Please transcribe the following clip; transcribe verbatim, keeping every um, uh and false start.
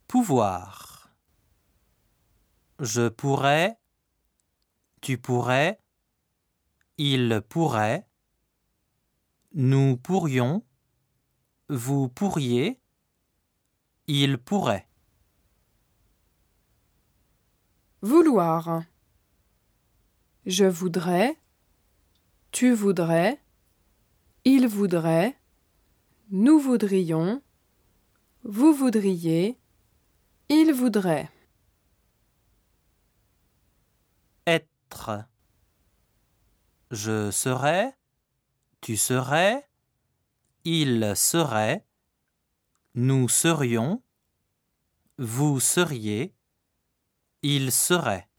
Pouvoir. Je pourrais, tu pourrais, il pourrait, nous pourrions, vous pourriez, il pourrait. Vouloir. Je voudrais, tu voudrais, il voudrait, nous voudrions, vous voudriez, il voudrait. Être. Je serais, tu serais, il serait, nous serions, vous seriez, il serait.